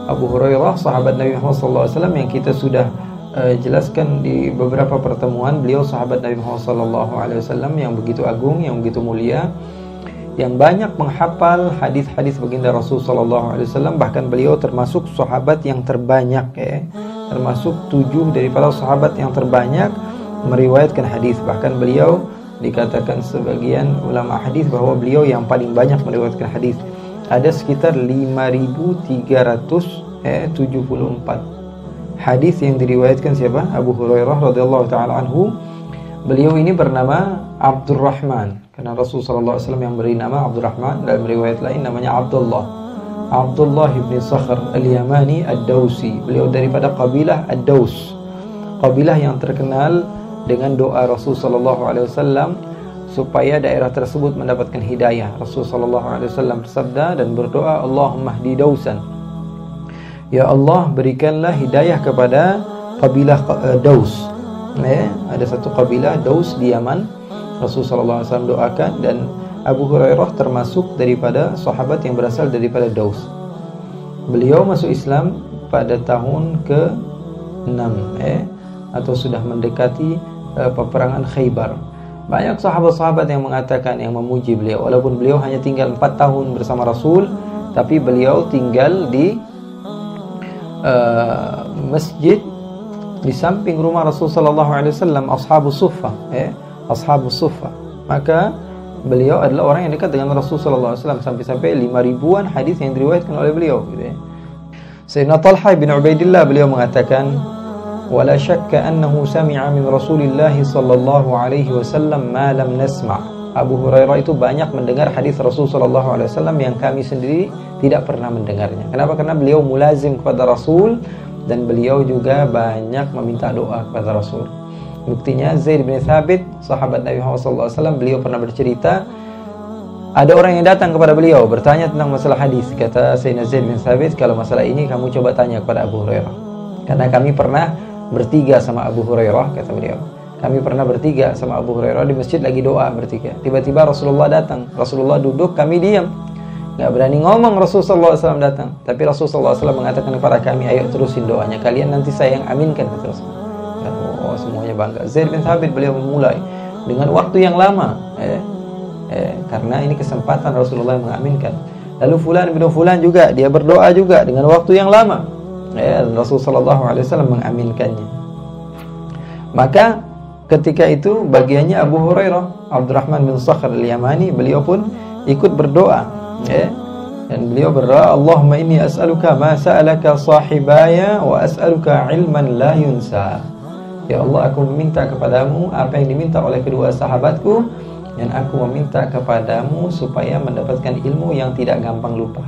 Abu Hurairah, sahabat Nabi Muhammad SAW, yang kita sudah jelaskan di beberapa pertemuan. Beliau sahabat Nabi Muhammad SAW yang begitu agung, yang begitu mulia, yang banyak menghafal hadis-hadis baginda Rasul SAW. Bahkan beliau termasuk sahabat yang terbanyak, termasuk 7 daripada sahabat yang terbanyak meriwayatkan hadis. Bahkan beliau dikatakan sebagian ulama hadis bahwa beliau yang paling banyak meriwayatkan hadis. Ada sekitar 5.374 hadis yang diriwayatkan siapa? Abu Hurairah radhiyallahu taala anhu. Beliau ini bernama Abdurrahman, karena Rasulullah SAW yang beri nama Abdurrahman. Dalam riwayat lain namanya Abdullah ibn Sakhr al-Yamani ad-Dausi. Beliau daripada kabilah ad-Daus, kabilah yang terkenal dengan doa Rasulullah SAW supaya daerah tersebut mendapatkan hidayah. Rasulullah SAW bersabda dan berdoa, Allahumma hdi Dausan, ya Allah berikanlah hidayah kepada kabilah Daus. Ada satu kabilah Daus di Yaman. Rasulullah SAW doakan, dan Abu Hurairah termasuk daripada sahabat yang berasal daripada Daus. Beliau masuk Islam pada tahun ke-6 atau sudah mendekati peperangan Khaybar. Banyak sahabat-sahabat yang mengatakan, yang memuji beliau, walaupun beliau hanya tinggal 4 tahun bersama Rasul, tapi beliau tinggal di masjid di samping rumah Rasulullah SAW, Ashabus Suffah, Ashabus Suffah. Maka beliau adalah orang yang dekat dengan Rasulullah SAW, sampai-sampai 5.000-an hadis yang diriwayatkan oleh beliau, Sayyidina Talha bin Ubaidillah, beliau mengatakan, wala syakka annahu sami'a min Rasulillah sallallahu alaihi wasallam ma lam nasma'. Abu Hurairah itu banyak mendengar hadis Rasulullah SAW yang kami sendiri tidak pernah mendengarnya. Kenapa? Karena beliau mulazim kepada Rasul, dan beliau juga banyak meminta doa kepada Rasul. Buktinya Zaid bin Thabit, sahabat Nabi Muhammad SAW, beliau pernah bercerita, ada orang yang datang kepada beliau bertanya tentang masalah hadis. Kata Sayyidina Zaid bin Thabit, kalau masalah ini kamu coba tanya kepada Abu Hurairah, karena kami pernah bertiga sama Abu Hurairah, kata beliau. Kami pernah bertiga sama Abu Hurairah di masjid lagi doa bertiga. Tiba-tiba Rasulullah datang. Rasulullah duduk, kami diam. Gak berani ngomong. Rasulullah SAW datang. Tapi Rasulullah SAW mengatakan kepada kami, ayo terusin doanya. Kalian nanti saya yang aminkan, kata Rasulullah. Oh, semuanya bangga. Zaid bin Thabit, beliau memulai dengan waktu yang lama. Karena ini kesempatan Rasulullah yang mengaminkan. Lalu Fulan bin Fulan juga, dia berdoa juga dengan waktu yang lama. Rasulullah SAW mengaminkannya. Maka ketika itu bagiannya Abu Hurairah, Abdurrahman bin Sakhr al-Yamani, beliau pun ikut berdoa, dan beliau berdoa, Allahumma inni as'aluka ma sa'alaka sahibaya wa as'aluka ilman la yunsa. Ya Allah, aku meminta kepadamu apa yang diminta oleh kedua sahabatku, dan aku meminta kepadamu supaya mendapatkan ilmu yang tidak gampang lupa.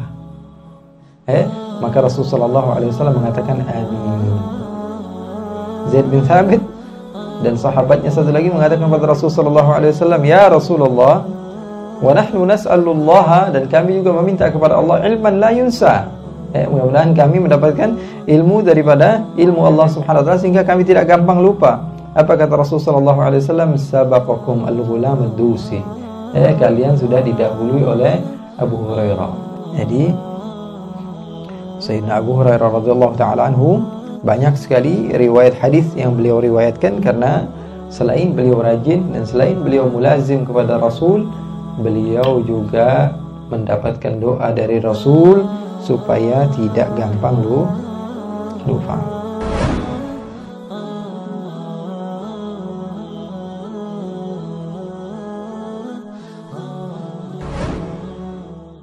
Maka Rasulullah SAW mengatakan amin. Zaid bin Thabit dan sahabatnya satu lagi mengatakan kepada Rasulullah SAW, ya Rasulullah, wa nahnu nas'alullah, dan kami juga meminta kepada Allah ilman la yunsa. Mudah-mudahan kami mendapatkan ilmu daripada ilmu Allah Subhanahu wa taala sehingga kami tidak gampang lupa. Apa kata Rasulullah SAW? Sabaqakum al-ghulam ad-dusi. Kalian sudah didahului oleh Abu Hurairah. Jadi Sayyidina Abu Hurairah radhiyallahu taala anhu banyak sekali riwayat hadis yang beliau riwayatkan, karena selain beliau rajin dan selain beliau mulazim kepada Rasul, beliau juga mendapatkan doa dari Rasul supaya tidak gampang lupa.